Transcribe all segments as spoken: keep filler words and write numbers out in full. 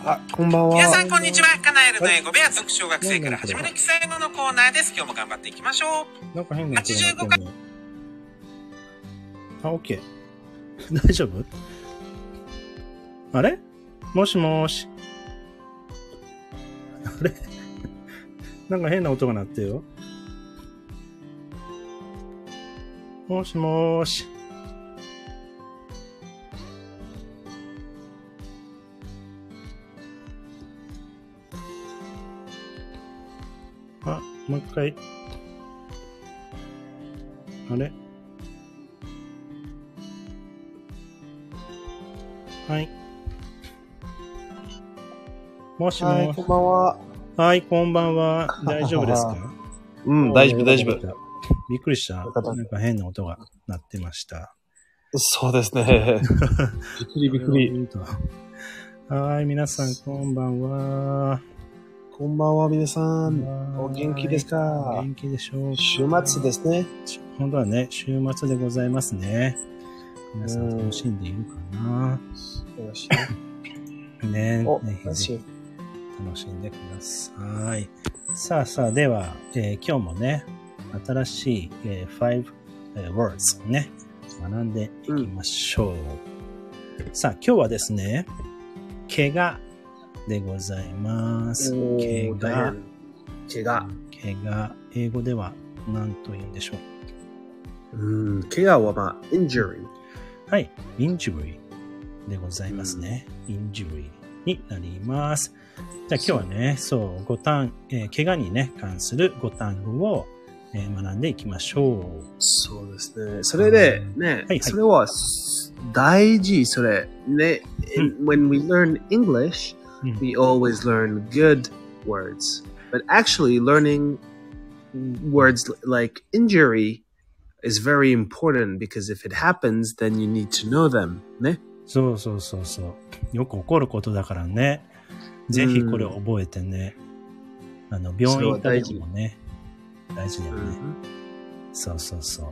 あ、こんばんは。 皆さんこんにちは。カナエルの英語部屋続小学生から始める基礎英語のコーナーです。今日も頑張っていきましょう。 なんか変なはちじゅうごかい。 あ、オッケー。大丈夫？あれ？もしもーし。あれ？なんか変な音が鳴ってよ。もしもーし。あ、もう一回。あれ？はい。もしもはい、こんばんは。 はい、こんばんは。大丈夫ですか？ うん、大丈夫、大丈夫。 びっくりした。なんか変な音が鳴ってました。 そうですね。びっくりびっくり。 はい、皆さん、こんばんは。 こんばんは、皆さん。お元気ですか？ 元気でしょうか？ 週末ですね。 本当はね、週末でございますね。皆さん楽しんでいるかな？ よしね、 お、 ね、 楽しい。 楽しんでください。さあさあ、では、えー、今日もね、新しい、えー、five、えー、words をね、学んでいきましょう。うん、さあ、今日はですね、怪我でございます。怪我。 怪我。 怪我。英語では何と言うんでしょう。うん、怪我はまあ、injury。 はい、injury でございますね。うん、injury になります。じゃあ今日はね、そう、五単、えー、怪我にね、関する五単語を、えー、学んでいきましょう。 そうですね。それで、ね、はいはい、それは大事、それ。ね、うん、when we learn English, we always learn good words. But actually learning words like injury is very important because if it happens, then you need to know them. ね。 そうそうそうそう。よく起こることだからね。ぜひこれを覚えてね。あの、病院行った時もね。大事だよね。そうそうそう。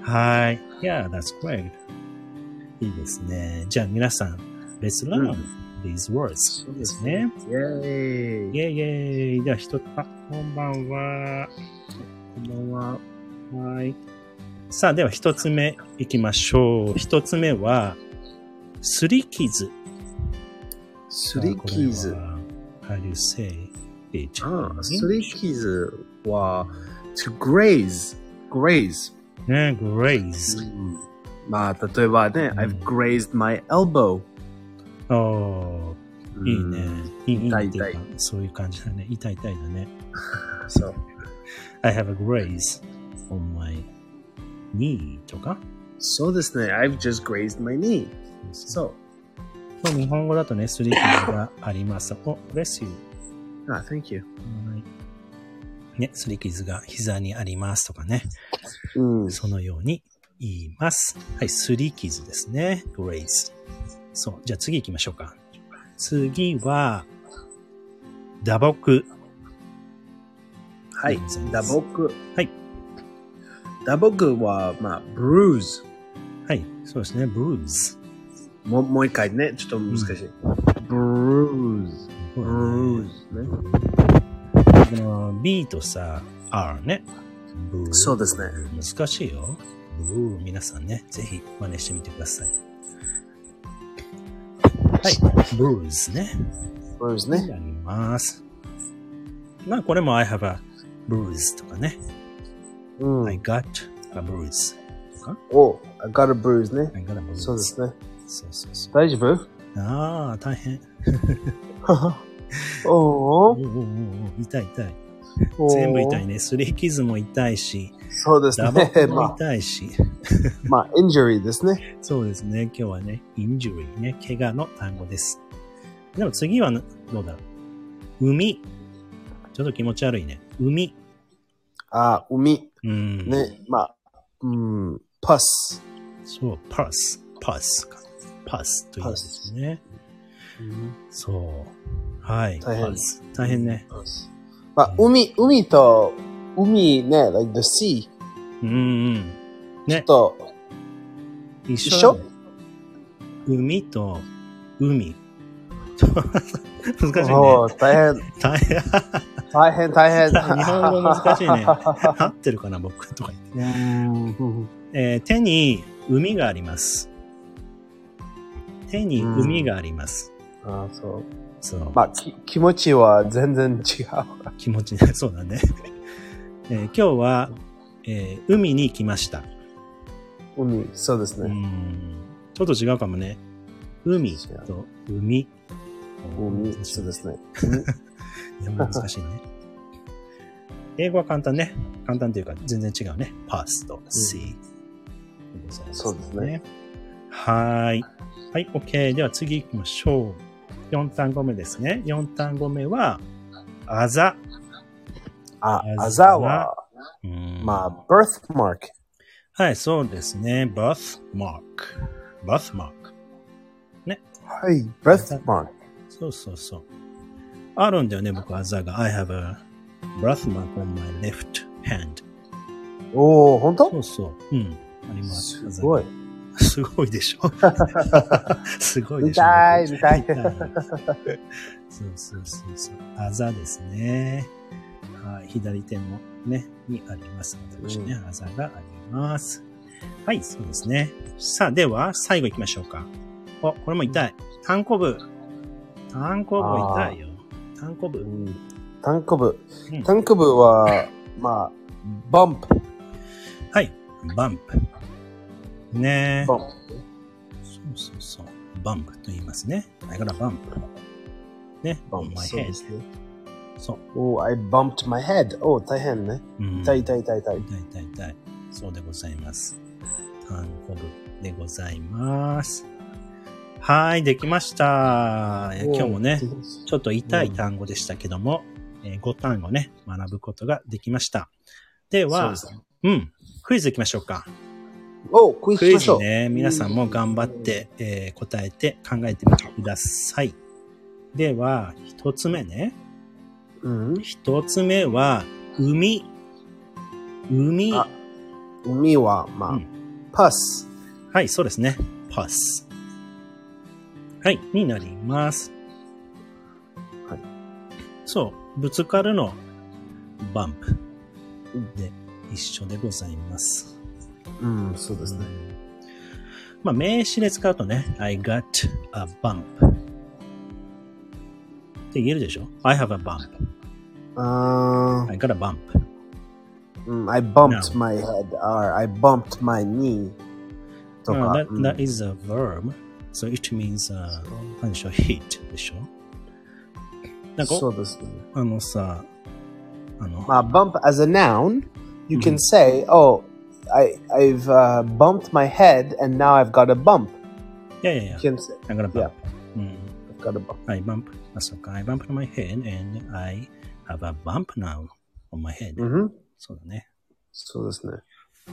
はい。Yeah, that's great. いいですね。じゃあ皆さん、Let's learn these words ですね。 イェーイ。 イェイイェイ。では一つ、あ、こんばんは。 こんばんは。 はい。さあ、では一つ目行きましょう。一つ目は、すり傷。 すり傷。 How do you say it? ああ、すり傷は、to graze. graze. ね、graze、うん。 まあ、例えばね、うん、I've grazed my elbow. おー、いいね。いい、 痛い痛い。 そういう感じだね。痛い痛いだね。 そう。 I have a graze on my knee とかそうですね。I've just grazed my knee. そう。 日本語だとね、すり傷があります。お、bless you. あ、thank you. ね、すり傷が膝にありますとかね。 うん。 そのように言います。はい、すり傷ですね。graze。そう。じゃあ次行きましょうか。次は、打撲。 はい。打撲。 はい。 打撲は、まあ、bruise。 はい。そうですね。bruise。 もう、もう一回ね。ちょっと難しい。bruise。bruise ね。 この B とさ、R ね。 そうですね。 難しいよ。皆さんね、ぜひ真似してみてください。はい。bruise ね。 bruise ね。 やります。まあ、これも I have a bruise とかね。 うん、 I got a bruise とか。 お、I got a bruise ね。 I got a bruise。 そうですね。 そうそうそう。 大丈夫？ ああ、大変。 おおおお痛い痛い。全部痛いね。すり傷も痛いし。 そうですね。 打撲も痛いし。 まあ、injury ですね。 そうですね。今日はね、injury ね、怪我の単語です。でも次はどうだろう。海。ちょっと気持ち悪いね。海。 あ、海。 うん。 ね、まあ、うん、パス。 そう、パス。パスか。パスということですね。うん、そう。はい。 大変。 大変ね。 まあ、海、海と、海ね、like the sea。 うんうん。ね。 ちょっと、 一緒、ね、海と海。 難しいね。 おー大変。 大変。 大変、大変。 日本語難しいね。合ってるかな、僕とか言って。 うんえー手に海があります。手に海があります。 あそう。 そう。 まあ、き気持ちは全然違う。 気持ちね、そうだね。えー今日は、えー海に来ました。 海、そうですうね。 ん。ちょっと違うかもね。海と海。 海、そうですね。 日本語難しいね。英語は簡単ね。簡単というか全然違うね。パスと C。 そうですね。 はーい。はい、OK。では次行きましょう。よん単語目ですね。よん単語目は、あざ。 あ、あざは、 うんまあ、birthmark。 はい、そうですね。birthmark。birthmark。ね。 はい、birthmark。 そうそうそう。あるんだよね、僕、あざが。I have a birthmark on my left hand. おー、ほんとそうそう。うん。あります。 すごい。 すごいでしょすごいでしょ見たい、見たい。 そうそうそうそう。あざですね。はい。左手のね、にあります。私ね、あざがあります。はい、そうですね。さあ、では、最後行きましょうか。お、これも痛い。単行部。単行部痛いよ。単行部。 単行部。 うん、 単行部は、まあ、バンプ。 はい。バンプ。ねえ。 バンプ。 そうそうそう。バンプと言いますね。I got a bump. ね。on my head. そう。 お、I bumped my head. お、大変ね。痛い痛い痛い痛い。 痛い痛い痛い。そうでございます。単行部でございます。はい、できました。今日もね、ちょっと痛い単語でしたけども、うんえー、ご単語ね、学ぶことができました。では、ううん、クイズいきましょうか。 お、クイズしましょう。 クイズね、皆さんも頑張って、えー、答えて考えてみてください。では、一つ目ね。 うん、 一つ目は、海。海。 あ、海は、まあ、うん、パス。 はい、そうですね。パス。はい、になります。はい。そう、ぶつかるの、バンプ。で、一緒でございます。 うん、そうですね。 まあ、名詞で使うとね、I got a bump って言えるでしょ ?I have a bump.、Uh, I got a bump.、Um, I bumped my head or I bumped my knee. とか、uh, that, that is a verb.So it means, 何でしょう hit でしょなんか、 そうですね。 あのさ、あの、 まあ、bump as a noun, you can say, oh, I, I've、uh, bumped my head and now I've got a bump. いやいやいや。 You can say, I got a bump. Yeah. うん、 I've got a bump. I bump. あ、そうか。I bumped my head and I have a bump now on my head. うん、 そうだね。 そうですね。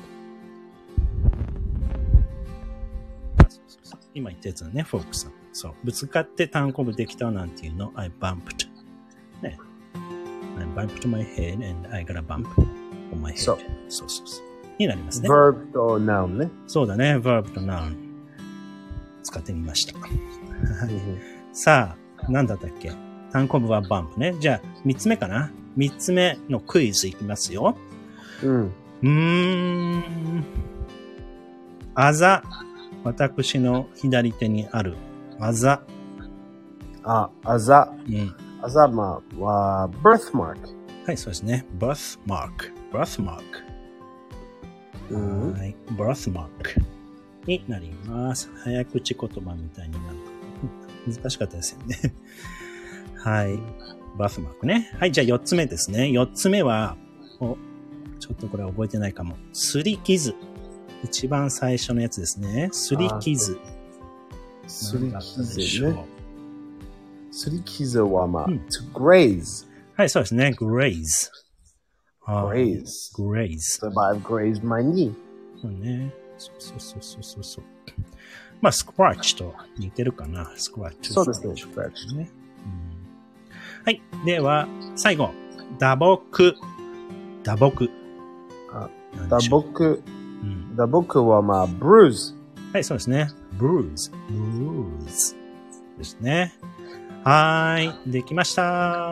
今言ったやつだね、フォークさん。そう。ぶつかって単行部できたなんていうの、I bumped. ね。I bumped my head and I got a bump on my head. そう。そうそうそう。になりますね。 verb と noun ね。 そうだね、verb と noun。使ってみました。さあ、なんだったっけ単行部は bump ね。じゃあ、三つ目かな三つ目のクイズいきますよ。 うん。 うーん。あざ。私の左手にあるあざ。 あ、あざ。 うん。 あざまは、birthmark。 はい、そうですね。birthmark。birthmark。 うん、 はい。birthmark になります。早口言葉みたいになる。難しかったですよね。はい。birthmark ね。はい、じゃあ四つ目ですね。四つ目は、お、ちょっとこれ覚えてないかも。すり傷。一番最初のやつですね。すり傷。 すり傷ね。すり傷はまあ、うん、to graze。 はい、そうですね。graze。 graze。 graze。 So I've grazed my knee。 そうね。そうそうそうそうそう。まあ、scratch と似てるかな。scratch。 そうですね。scratch ね、 うん。はい。では、最後。打撲。打撲。 あ、打撲。打撲はまあ、bruise。 はい、そうですね。bruise。bruise。ですね。 はーい。できました。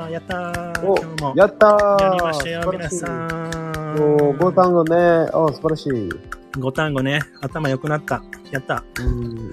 やったー。今日も。 やったー。 やりましたよ、皆さん。 おー、ご単語ね。お素晴らしい。 ご単語ね。頭良くなった。やった。 うん、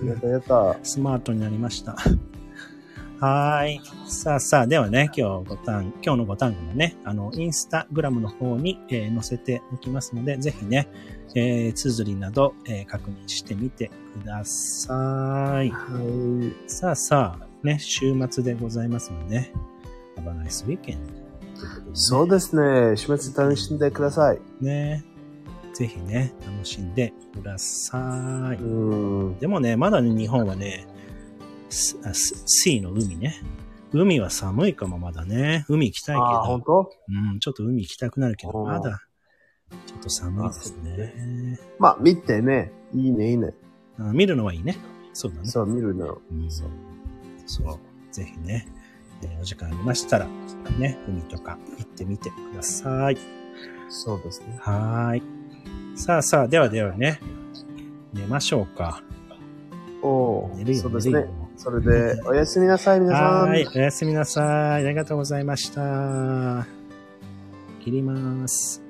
やったやった。 スマートになりました。はーい。さあさあ、ではね、今日ご単、今日のご単語もね、あの、インスタグラムの方に、えー、載せておきますので、ぜひね、えー、綴りなど、えー、確認してみてください。 はい。 さあさあ、ね、週末でございますので、ね、Have a nice weekend、ね。 そうですね。週末楽しんでください。 ね。ぜひね、楽しんでください。 うん。 でもね、まだね、日本はね、シーの海ね。海は寒いかもまだね。海行きたいけど。 あ、本当？ うん、ちょっと海行きたくなるけど、まだ、ちょっと寒いですね。 まあ、見てね。いいね、いいね。 あ、見るのはいいね。そうだね。 そう、見るの。 うん、そう。そう。ぜひね、えー、お時間ありましたら、ね、海とか行ってみてください。 そうですね。 はーい。さあさあ、ではではね、寝ましょうか。 おー、 寝るよ、 そうですね。 寝るよ。 それで、おやすみなさい、皆さん。 はい、おやすみなさい。ありがとうございました。切ります。